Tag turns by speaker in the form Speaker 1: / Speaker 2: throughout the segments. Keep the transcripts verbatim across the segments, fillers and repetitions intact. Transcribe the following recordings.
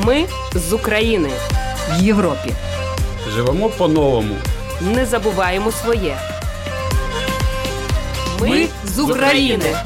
Speaker 1: Ми з України. В Європі.
Speaker 2: Живемо по-новому.
Speaker 1: Не забуваємо своє. Ми, Ми з України.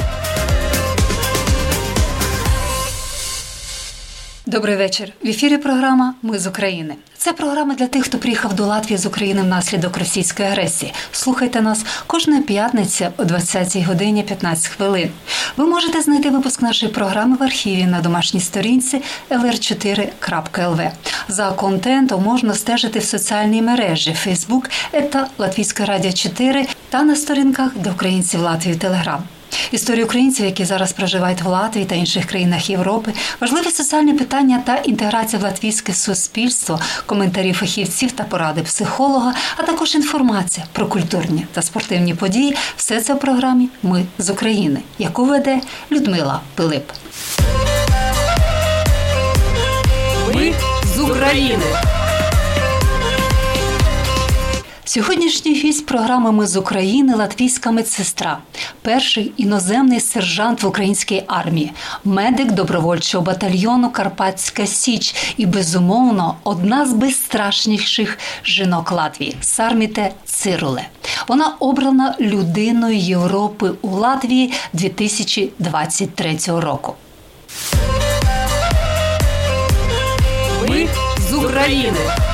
Speaker 3: Добрий вечір. В ефірі програма «Ми з України». Це програма для тих, хто приїхав до Латвії з України внаслідок російської агресії. Слухайте нас кожної п'ятниці о двадцятій годині п'ятнадцять хвилин. Ви можете знайти випуск нашої програми в архіві на домашній сторінці ел ер чотири крапка ел ве. За контентом можна стежити в соціальній мережі Facebook та Латвійське радіо чотири та на сторінках для українців Латвії Телеграм. Історії українців, які зараз проживають в Латвії та інших країнах Європи, важливі соціальні питання та інтеграція в латвійське суспільство, коментарі фахівців та поради психолога, а також інформація про культурні та спортивні події – все це в програмі «Ми з України», яку веде Людмила Пилип.
Speaker 1: Ми з України.
Speaker 3: Сьогоднішній гість програми «Ми з України» – латвійська медсестра, перший іноземний сержант в українській армії, медик добровольчого батальйону «Карпатська Січ» і, безумовно, одна з безстрашніших жінок Латвії – Сарміте Цируле. Вона обрана людиною Європи у Латвії дві тисячі двадцять третього року.
Speaker 1: Ми з України.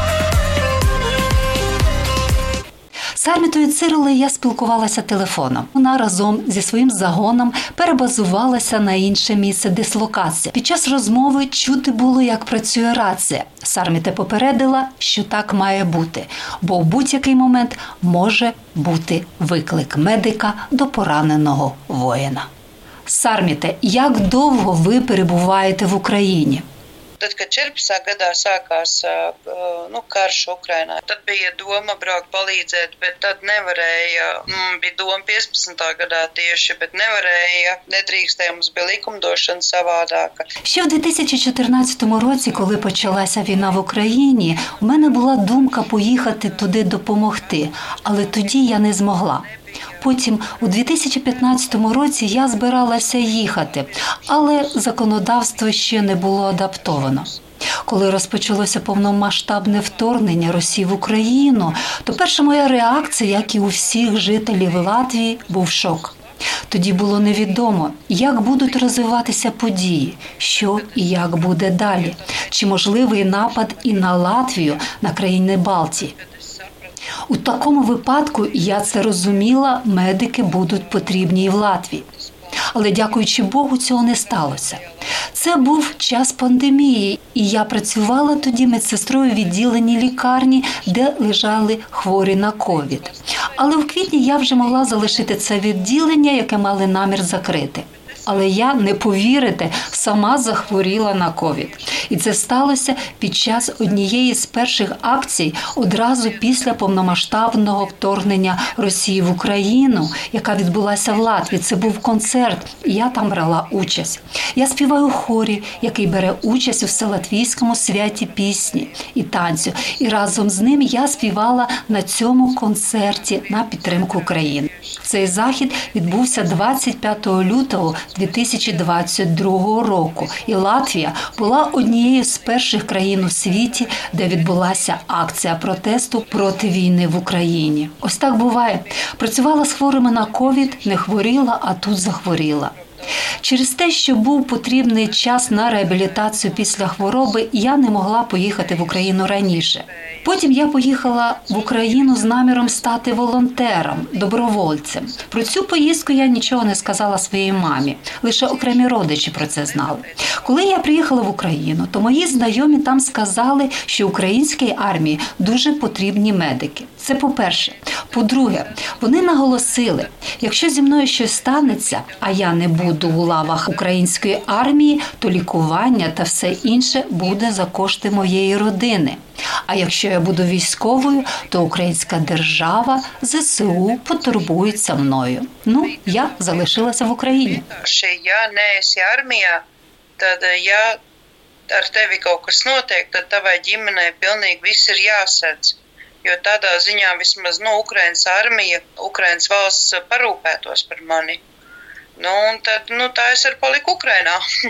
Speaker 3: З Сармітою Цирулею я спілкувалася телефоном. Вона разом зі своїм загоном перебазувалася на інше місце дислокації. Під час розмови чути було, як працює рація. Сарміте попередила, що так має бути, бо в будь-який момент може бути виклик медика до пораненого воїна. Сарміте, як довго ви перебуваєте в Україні?
Speaker 4: Tad, kad četrpadsmitā gadā sākās nu, karš Ukrainā, tad bija doma braukt palīdzēt, bet tad nevarēja. Bija doma piecpadsmitā gadā tieši, bet nevarēja. Nedrīkstēja, mums bija likumdošana savādāka.
Speaker 3: Ще в дві тисячі чотирнадцятому році, коли почалася війна в Україні, у мене була думка поїхати туди допомогти, але тоді я не змогла. Потім, у дві тисячі п'ятнадцятому році я збиралася їхати, але законодавство ще не було адаптовано. Коли розпочалося повномасштабне вторгнення Росії в Україну, то перша моя реакція, як і у всіх жителів Латвії, був шок. Тоді було невідомо, як будуть розвиватися події, що і як буде далі, чи можливий напад і на Латвію, на країни Балтії. У такому випадку, я це розуміла, медики будуть потрібні і в Латвії. Але, дякуючи Богу, цього не сталося. Це був час пандемії, і я працювала тоді медсестрою в відділенні лікарні, де лежали хворі на ковід. Але в квітні я вже могла залишити це відділення, яке мали намір закрити. Але я, не повірите, сама захворіла на ковід. І це сталося під час однієї з перших акцій одразу після повномасштабного вторгнення Росії в Україну, яка відбулася в Латвії. Це був концерт, і я там брала участь. Я співаю в хорі, який бере участь у Вселатвійському святі пісні і танцю. І разом з ним я співала на цьому концерті на підтримку України. Цей захід відбувся двадцять п'ятого лютого дві тисячі двадцять другого року. І Латвія була однією з перших країн у світі, де відбулася акція протесту проти війни в Україні. Ось так буває. Працювала з хворими на ковід, не хворіла, а тут захворіла. Через те, що був потрібний час на реабілітацію після хвороби, я не могла поїхати в Україну раніше. Потім я поїхала в Україну з наміром стати волонтером, добровольцем. Про цю поїздку я нічого не сказала своїй мамі, лише окремі родичі про це знали. Коли я приїхала в Україну, то мої знайомі там сказали, що українській армії дуже потрібні медики. Це по-перше. По-друге, вони наголосили, якщо зі мною щось станеться, а я не буду у лавах української армії, то лікування та все інше буде за кошти моєї родини. А якщо я буду військовою, то українська держава, зе се у потурбується мною. Ну, я залишилася в Україні.
Speaker 4: Якщо я не esi армія, tad ja ar tevi kaut kas notiek, tad tavai ģimenei pilnīgi viss ir jāsedz. Jo tādā ziņā vismaz, nu, Ukrainas armija, Ukrainas valsts parūpētos par mani. Nu, un tad, nu, tā es arī paliku Ukrainā.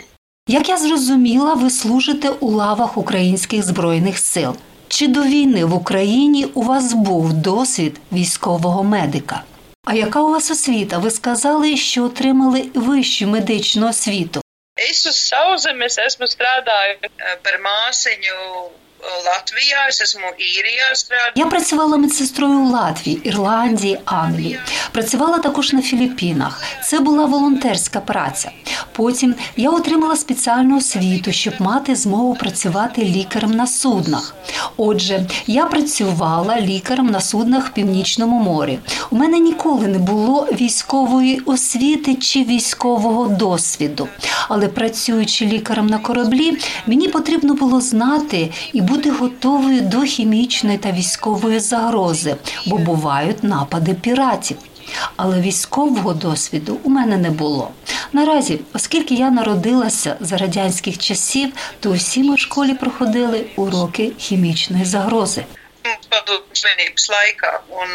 Speaker 3: Як я зрозуміла, ви служите у лавах українських Збройних сил. Чи до війни в Україні у вас був досвід військового медика? А яка у вас освіта? Ви сказали, що отримали вищу медичну освіту.
Speaker 4: Es uz sauszemes esmu strādāju par māsiņu Latvijā, es esmu Īrijā strādāju.
Speaker 3: Я працювала медсестрою у Латвії, Ірландії, Англії. Працювала також на Філіппінах. Це була волонтерська праця. Потім я отримала спеціальну освіту, щоб мати змогу працювати лікарем на суднах. Отже, я працювала лікарем на суднах в Північному морі. У мене ніколи не було військової освіти чи військового досвіду. Але працюючи лікарем на кораблі, мені потрібно було знати і бути готовою до хімічної та військової загрози, бо бувають напади піратів. Але військового досвіду у мене не було. Наразі, оскільки я народилася за радянських часів, то усі ми в школі проходили уроки хімічної загрози.
Speaker 4: Slimības laikā, un,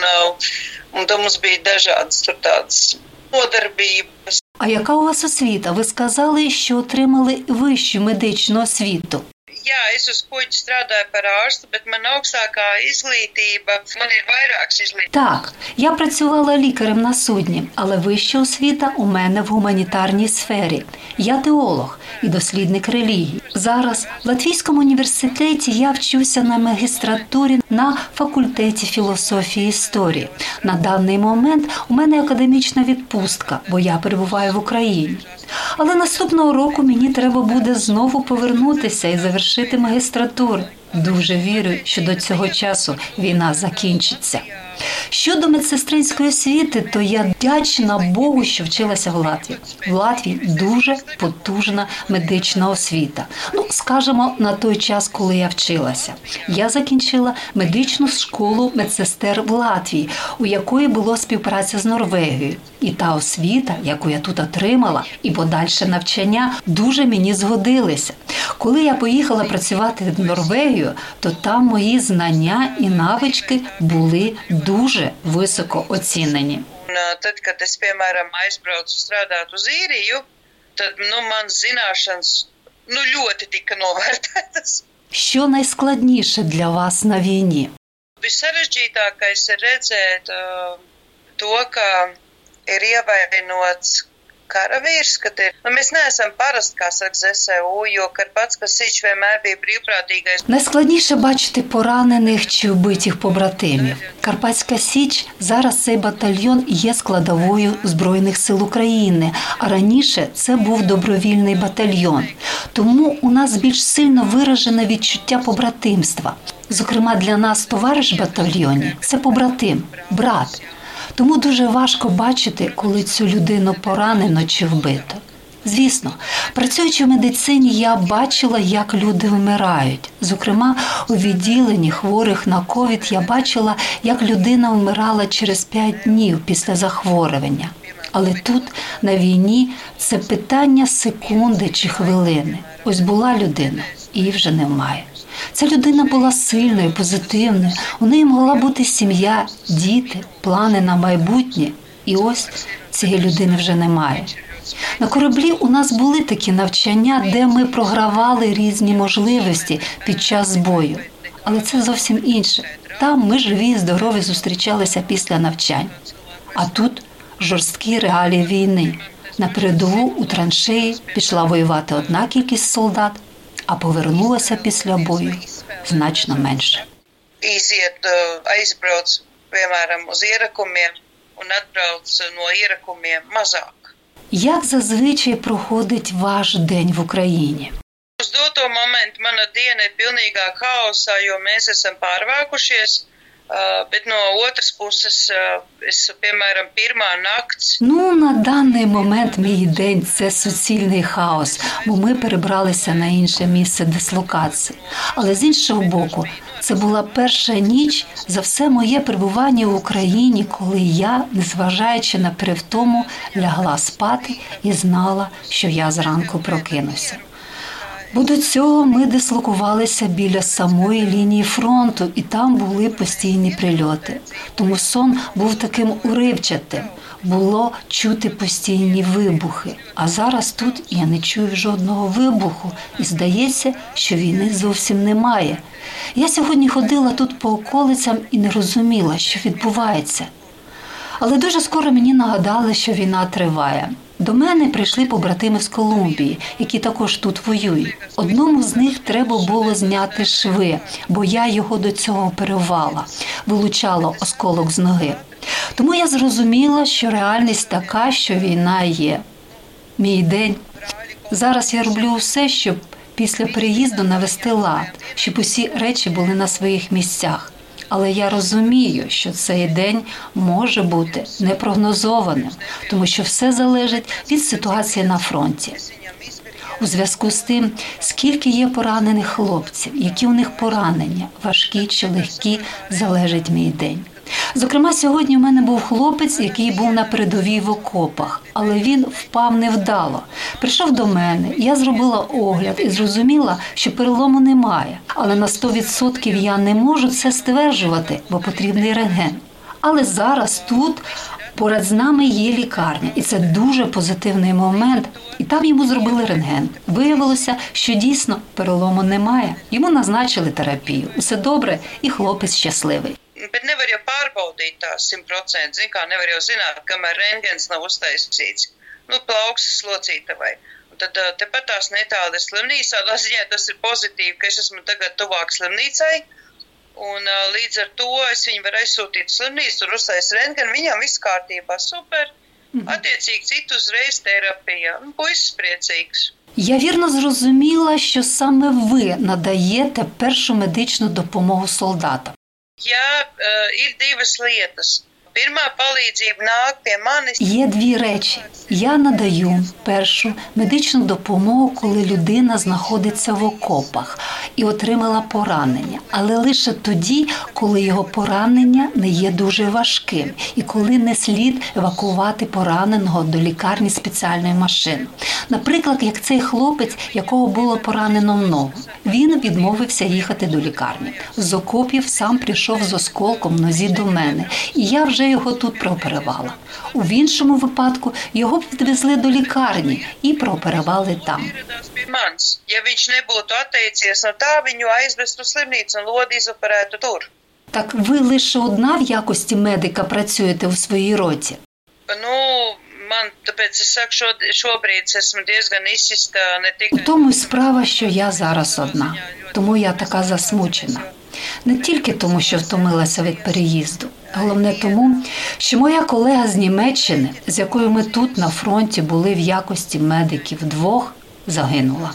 Speaker 4: un tam mums bija dažādas tur tādas nodarbības.
Speaker 3: А яка у вас освіта? Ви сказали, що отримали вищу медичну освіту.
Speaker 4: Jā, es uz kuģi strādāju par ārstu, bet man augstākā izglītība, man ir vairākas izglītības.
Speaker 3: Так, я працювала лікарем на судні, але вища освіта у мене в гуманітарній сфері. Я теолог і дослідник релігії. Зараз в Латвійському університеті я вчуся на магістратурі на факультеті філософії і історії. На даний момент у мене академічна відпустка, бо я перебуваю в Україні. Але наступного року мені треба буде знову повернутися і завершити магістратуру. Дуже вірю, що до цього часу війна закінчиться. Щодо медсестринської освіти, то я вдячна Богу, що вчилася в Латвії. В Латвії дуже потужна медична освіта. Ну, скажімо, на той час, коли я вчилася. Я закінчила медичну школу медсестер в Латвії, у якої було співпраця з Норвегією. І та освіта, яку я тут отримала, і подальше навчання дуже мені згодилися. Коли я поїхала працювати в Норвегію, то там мої знання і навички були дуже високо оцінені.
Speaker 4: Tad, kad es, piemēram, aizbraucu strādāt uz Īriju, tad, nu, man zināšanas, nu, ļoti tika novērtētas.
Speaker 3: Що найскладніше для вас на війні?
Speaker 4: Visarežģītākais ir redzēt uh, to, ka ir ievainots karavīrs, kad ir, nu, mēs neesam parasti, kā saka зе ес у, jo Karpatska Sič vienmēr bija brīvprātīgais.
Speaker 3: Найскладніше бачити поранених чи вбитих побратимів. Карпатська Січ – зараз цей батальйон є складовою Збройних сил України, а раніше це був добровільний батальйон. Тому у нас більш сильно виражене відчуття побратимства. Зокрема, для нас товариш в батальйоні – це побратим, брат. Тому дуже важко бачити, коли цю людину поранено чи вбито. Звісно, працюючи в медицині, я бачила, як люди вмирають. Зокрема, у відділенні хворих на ковід я бачила, як людина вмирала через п'ять днів після захворювання. Але тут, на війні, це питання секунди чи хвилини. Ось була людина, і її вже немає. Ця людина була сильною, позитивною, у неї могла бути сім'я, діти, плани на майбутнє. І ось цієї людини вже немає. На кораблі у нас були такі навчання, де ми програвали різні можливості під час бою. Але це зовсім інше. Там ми живі і здорові зустрічалися після навчань. А тут жорсткі реалії війни. На передову у траншеї пішла воювати одна кількість солдат, а повернулася після бою значно менше.
Speaker 4: Iziet, aizbrauc, piemēram, uz ierakumiem un atbrauc no ierakumiem mazāk.
Speaker 3: Як зазвичай проходить ваш день в Україні?
Speaker 4: Uz doto momentu mana diena ir pilnīgā haosā, jo mēs esam pārvākušies, bet no otras puses es, piemēram, pirmā nakts.
Speaker 3: Ну, на даний момент мій день – це суцільний хаос, бо ми перебралися на інше місце дислокації. Але з іншого боку, це була перша ніч за все моє перебування в Україні, коли я, незважаючи на перевтому, лягла спати і знала, що я зранку прокинуся. Бо до цього ми дислокувалися біля самої лінії фронту, і там були постійні прильоти. Тому сон був таким уривчатим. Було чути постійні вибухи. А зараз тут я не чую жодного вибуху. І здається, що війни зовсім немає. Я сьогодні ходила тут по околицям і не розуміла, що відбувається. Але дуже скоро мені нагадали, що війна триває. До мене прийшли побратими з Колумбії, які також тут воюють. Одному з них треба було зняти шви, бо я його до цього оперувала, вилучала осколок з ноги. Тому я зрозуміла, що реальність така, що війна є. Мій день. Зараз я роблю все, щоб після переїзду навести лад, щоб усі речі були на своїх місцях. Але я розумію, що цей день може бути непрогнозованим, тому що все залежить від ситуації на фронті. У зв'язку з тим, скільки є поранених хлопців, які у них поранення, важкі чи легкі, залежить мій день. Зокрема, сьогодні у мене був хлопець, який був на передовій в окопах, але він впав невдало. Прийшов до мене, я зробила огляд і зрозуміла, що перелому немає. Але на сто відсотків я не можу це стверджувати, бо потрібний рентген. Але зараз тут поряд з нами є лікарня, і це дуже позитивний момент. І там йому зробили рентген. Виявилося, що дійсно перелому немає. Йому назначили терапію. Усе добре, і хлопець щасливий.
Speaker 4: Bet nevar jau pārbaudīt tā simt procenti. Zin kā, nevar jau zināt, kamēr rentgens nav uztaisīts. Nu, plauksas locītavai. Un tad tepat tās netāda ir slimnīca. Tādā ziņā tas ir pozitīvi, ka es esmu tagad tuvāk slimnīcai. Un līdz ar to es viņu varu aizsūtīt slimnīcu, tur uztais rentgen. Viņam viss kārtībā, super. Attiecīgi citu uzreiz terapija. Un puisis priecīgs.
Speaker 3: Я вірно зрозуміла, що саме ви надаєте першу медичну допомогу солдатам.
Speaker 4: Jā, ir divas lietas. Pirmā palīdzība nāk pie manis.
Speaker 3: Є дві речі. Я надаю першу медичну допомогу, коли людина знаходиться в окопах і отримала поранення. Але лише тоді, коли його поранення не є дуже важким і коли не слід евакувати пораненого до лікарні спеціальною машиною. Наприклад, як цей хлопець, якого було поранено в ногу. Він відмовився їхати до лікарні. З окопів сам прийшов з осколком в нозі до мене. І я вже його тут прооперувала. У іншому випадку його відвезли до лікарні і прооперували там.
Speaker 4: Ja viņš nebūtu atteicies no tā, viņu aizvestu slimnīcu un lodi izoperētu tur.
Speaker 3: Так ви лише одна в якості медика працюєте у своїй роті?
Speaker 4: Nu, man, tāpēc es saku, šo, šobrīd esmu diezgan izsista ne tikai...
Speaker 3: У тому й справа, що я зараз одна. Тому я така засмучена. Не тільки тому, що втомилася від переїзду. Головне тому, що моя колега з Німеччини, з якою ми тут на фронті були в якості медиків вдвох, загинула.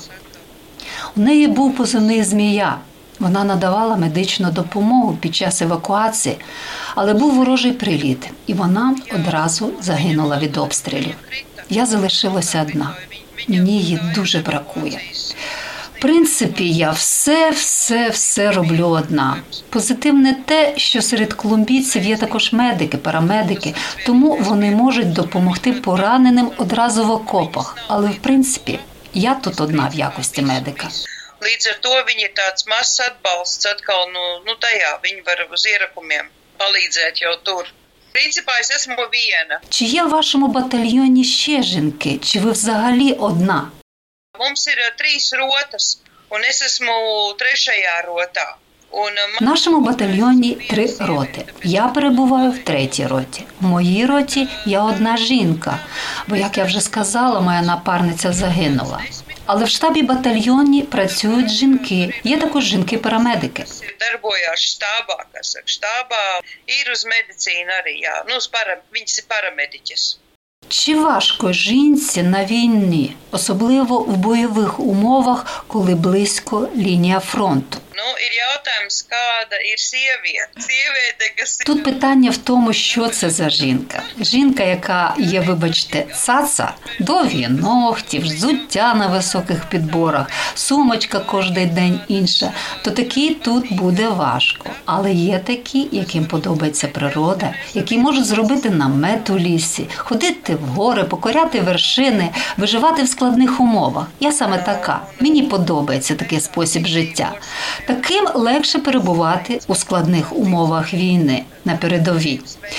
Speaker 3: У неї був позивний «Змія». Вона надавала медичну допомогу під час евакуації, але був ворожий приліт, і вона одразу загинула від обстрілів. Я залишилася одна. Мені її дуже бракує. В принципі, я все, все, все роблю одна. Позитивне те, що серед колумбійців є також медики, парамедики, тому вони можуть допомогти пораненим одразу в окопах. Але, в принципі, я тут одна в якості медика.
Speaker 4: Līdz ar to viņi ir tāds mazs atbalsts atkal, nu, nu tajā, viņi var uz ierakumiem palīdzēt jau tur. Principā es esmu viena.
Speaker 3: Чи є в вашому батальйоні ще жінки, чи ви взагалі одна?
Speaker 4: Mums ir trīs rotas, un es esmu trešajā rotā.
Speaker 3: В нашому батальйоні три роти. Я перебуваю в третій роті. В моїй роті я одна жінка, бо, як я вже сказала, моя напарниця загинула. Але в штабі батальйоні працюють жінки. Є також жінки-парамедики.
Speaker 4: Darbojās štābā, kas saka, štābā ir uz medicīnu arī, jā. Nu, para, viņas ir paramediķis.
Speaker 3: Чи важко жінці на війні, особливо в бойових умовах, коли близько лінія фронту?
Speaker 4: Nu, ir jautājums, kāda ir sieviete. Sieviete, kas ir...
Speaker 3: Тут питання в тому, що це за жінка. Жінка, яка є, вибачте, цаца, довгі ногті, взуття на високих підборах, сумочка кожен день інша, то такій тут буде важко. Але є такі, яким подобається природа, які можуть зробити намет у лісі, ходити в гори, покоряти вершини, виживати в складних умовах. Я саме така. Мені подобається такий спосіб життя. Таким легше перебувати у складних умовах війни на передовій.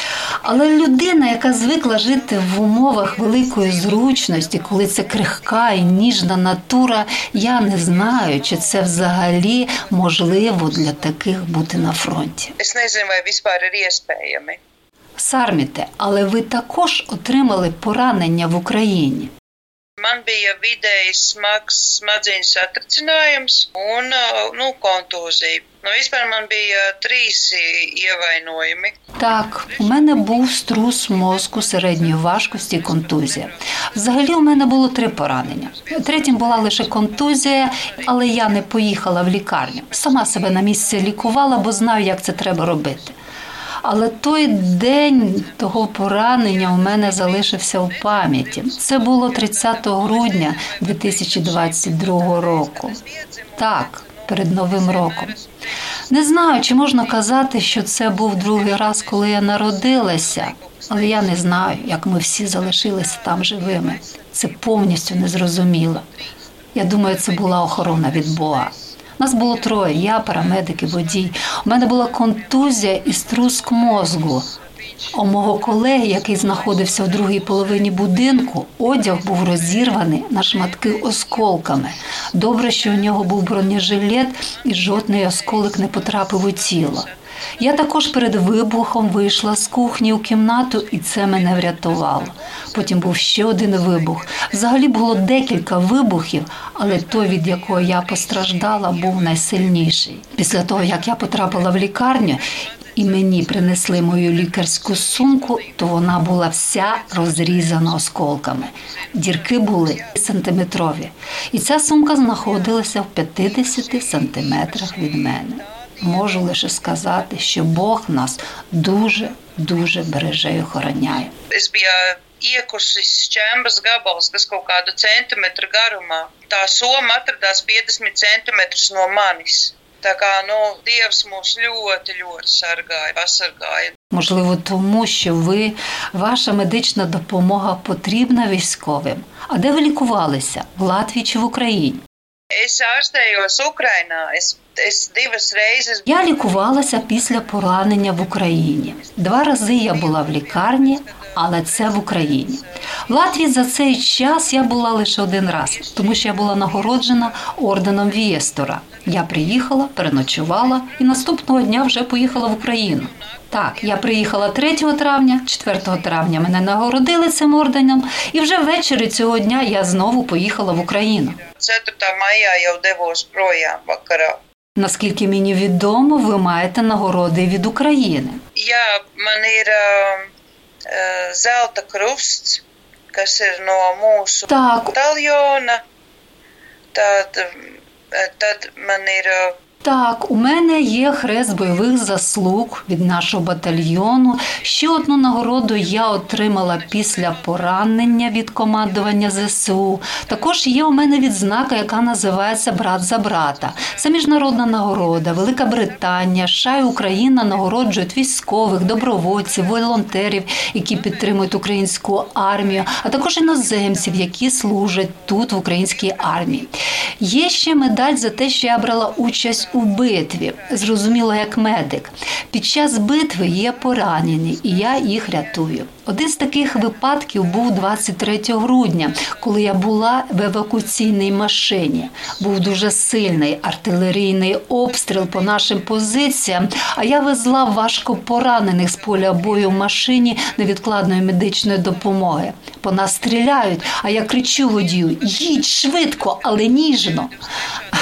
Speaker 3: Але людина, яка звикла жити в умовах великої зручності, коли це крихка і ніжна натура, я не знаю, чи це взагалі можливо для таких бути на фронті.
Speaker 4: Es nezinu, vai vispār ir iespējami.
Speaker 3: Сарміте, але ви також отримали поранення в Україні.
Speaker 4: Man bija vidēji smags smadzeņu satricinājums un, nu, kontūzija. Nu, vispār man bija trīs ievainojumi.
Speaker 3: Так, у мене був струс мозку середньої важкості і контузія. Взагалі у мене було три поранення. Третім була лише контузія, але я не поїхала в лікарню. Сама себе на місці лікувала, бо знаю, як це треба робити. Але той день того поранення у мене залишився в пам'яті. Це було тридцятого грудня дві тисячі двадцять другого року. Так, перед Новим роком. Не знаю, чи можна казати, що це був другий раз, коли я народилася, але я не знаю, як ми всі залишилися там живими. Це повністю незрозуміло. Я думаю, це була охорона від Бога. Нас було троє, я, парамедик і водій. У мене була контузія і струск мозку. У мого колеги, який знаходився в другій половині будинку, одяг був розірваний на шматки осколками. Добре, що у нього був бронежилет і жодний осколок не потрапив у тіло. Я також перед вибухом вийшла з кухні у кімнату, і це мене врятувало. Потім був ще один вибух. Взагалі було декілька вибухів, але той, від якого я постраждала, був найсильніший. Після того, як я потрапила в лікарню, і мені принесли мою лікарську сумку, то вона була вся розрізана осколками. Дірки були сантиметрові. І ця сумка знаходилася в п'ятдесят сантиметрах від мене. Можу лише сказати, що Бог нас дуже-дуже береже і охороняє.
Speaker 4: Es biju iekusis šķembas gabals, kas kaut kādu centimetru garumā. Tā soma atradās piecdesmit centimetrus no manis. Tā kā, nu, Dievs mūs ļoti, ļoti sargāja, pasargāja.
Speaker 3: Можливо, тому, що ви, ваша медична допомога потрібна військовим. А де ви лікувалися? В Латвії чи в Україні?
Speaker 4: Es ārstējos Ukrainā. Es, es divas reizes...
Speaker 3: Я лікувалася після поранення в Україні. Два рази я була в лікарні, але це в Україні. В Латвії за цей час я була лише один раз, тому що я була нагороджена орденом Вієстора. Я приїхала, переночувала і наступного дня вже поїхала в Україну. Так, я приїхала третього травня, четвертого травня мене нагородили цим орденом, і вже ввечері цього дня я знову поїхала в Україну.
Speaker 4: ceturtā maijā jau devos projām vakarā.
Speaker 3: Наскільки мені відомо, ви маєте нагороди від України.
Speaker 4: Jā, man ir uh, uh, zelta krusts, kas ir no mūsu
Speaker 3: Так,
Speaker 4: bataljona. Tad, uh, tad man ir... Uh,
Speaker 3: Так, у мене є хрест бойових заслуг від нашого батальйону. Ще одну нагороду я отримала після поранення від командування зе се у. Також є у мене відзнака, яка називається «Брат за брата». Це міжнародна нагорода. Велика Британія, США і Україна нагороджують військових, добровольців, волонтерів, які підтримують українську армію, а також іноземців, які служать тут, в українській армії. Є ще медаль за те, що я брала участь у битві, зрозуміло, як медик. Під час битви є поранені, і я їх рятую. Один з таких випадків був двадцять третього грудня, коли я була в евакуаційній машині. Був дуже сильний артилерійний обстріл по нашим позиціям, а я везла важко поранених з поля бою в машині невідкладної медичної допомоги. По нас стріляють, а я кричу водію: «Їдь швидко, але ніжно».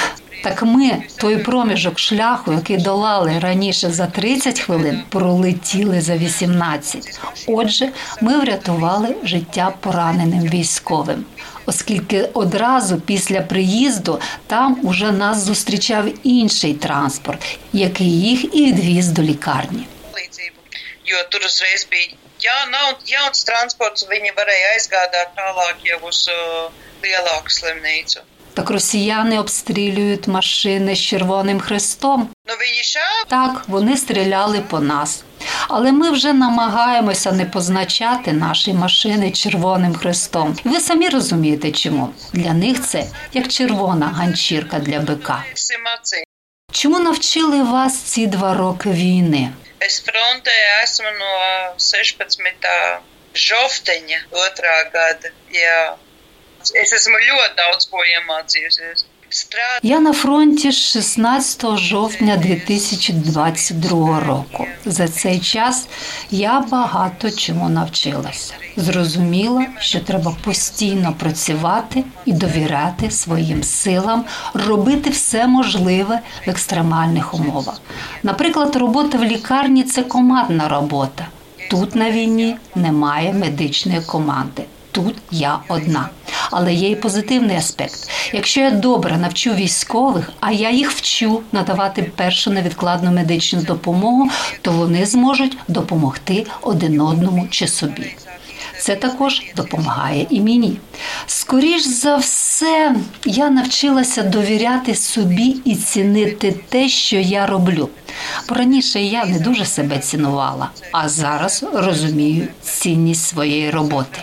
Speaker 3: Так ми той проміжок шляху, який долали раніше за тридцять хвилин, пролетіли за вісімнадцять. Отже, ми врятували життя пораненим військовим, оскільки одразу після приїзду там уже нас зустрічав інший транспорт, який їх і відвіз до лікарні.
Speaker 4: Jo tur uzreiz bija jā, jauns transports, viņi varēja aizgādāt tālāk jau uz uh, lielāku slimnīcu.
Speaker 3: Так росіяни обстрілюють машини з Червоним Хрестом.
Speaker 4: Ну, viņi šā...
Speaker 3: Так, вони стріляли по нас. Але ми вже намагаємося не позначати наші машини Червоним Хрестом. І ви самі розумієте, чому. Для них це як червона ганчірка для бика. Чому навчили вас ці два роки війни?
Speaker 4: Es frontē esmu no sešpadsmitā žofteņa otrā gada, jā. Es esmu ļoti daudz ko iemācījusies. Strād...
Speaker 3: Я на фронті з шістнадцятого жовтня дві тисячі двадцять другого року. За цей час я багато чому навчилася. Зрозуміла, що треба постійно працювати і довіряти своїм силам, робити все можливе в екстремальних умовах. Наприклад, робота в лікарні – це командна робота. Тут на війні немає медичної команди. Тут я одна. Але є і позитивний аспект. Якщо я добре навчу військових, а я їх вчу надавати першу невідкладну медичну допомогу, то вони зможуть допомогти один одному чи собі. Це також допомагає і мені. Скоріш за все, я навчилася довіряти собі і цінити те, що я роблю. Бо раніше я не дуже себе цінувала, а зараз розумію цінність своєї роботи.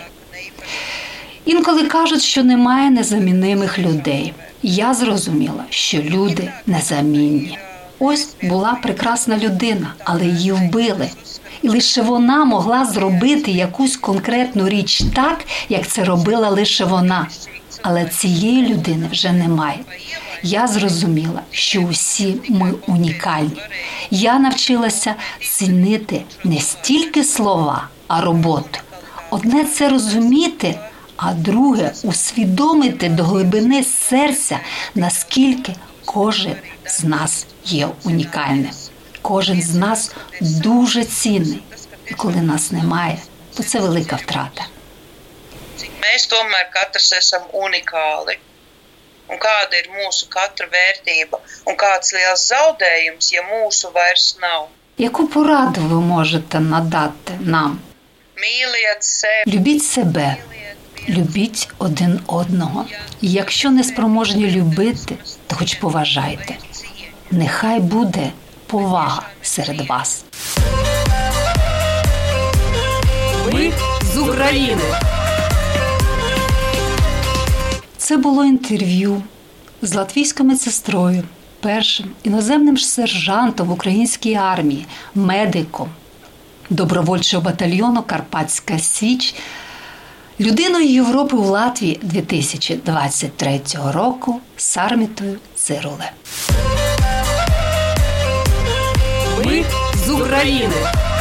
Speaker 3: Інколи кажуть, що немає незамінимих людей. Я зрозуміла, що люди незамінні. Ось була прекрасна людина, але її вбили. І лише вона могла зробити якусь конкретну річ так, як це робила лише вона. Але цієї людини вже немає. Я зрозуміла, що усі ми унікальні. Я навчилася цінити не стільки слова, а роботу. Одне – це розуміти, а друге – усвідомити до глибини серця, наскільки кожен з нас є унікальним. Кожен з нас дуже цінний. І коли нас немає, то це велика втрата.
Speaker 4: Mēs tomēr katrs esam unikāli. Un kāda ir mūsu katra vērtība? Un kāds liels zaudējums, ja mūsu vairs nav?
Speaker 3: Яку пораду ви можете надати нам?
Speaker 4: Mīliet sevi.
Speaker 3: Любіть себе. Любіть один одного. І якщо не спроможні любити, то хоч поважайте. Нехай буде повага серед вас.
Speaker 1: Ми з України.
Speaker 3: Це було інтерв'ю з латвійською медсестрою, першим іноземним сержантом в українській армії, медиком добровольчого батальйону «Карпатська Січ», людиною Європи у Латвії дві тисячі двадцять третього року Сармітою Цируле.
Speaker 1: Ми з України.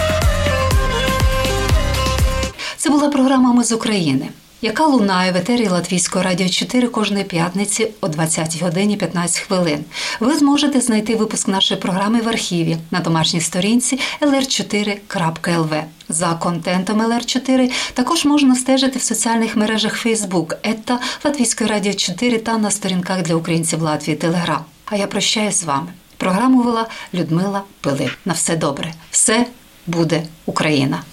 Speaker 3: Це була програма «Ми з України», яка лунає в етері Латвійського радіо чотири кожної п'ятниці о двадцятій годині п'ятнадцять хвилин. Ви зможете знайти випуск нашої програми в архіві на домашній сторінці ел ер чотири крапка ел ве. За контентом ел ер чотири також можна стежити в соціальних мережах Facebook, ета Латвійської радіо чотири та на сторінках для українців Латвії Телеграм. А я прощаюсь з вами. Програму вела Людмила Пилип. На все добре. Все буде Україна.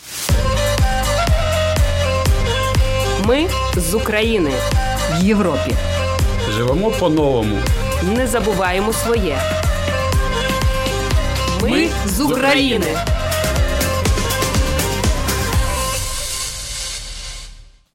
Speaker 1: Ми з України. В Європі.
Speaker 2: Живемо по-новому.
Speaker 1: Не забуваємо своє. Ми з України.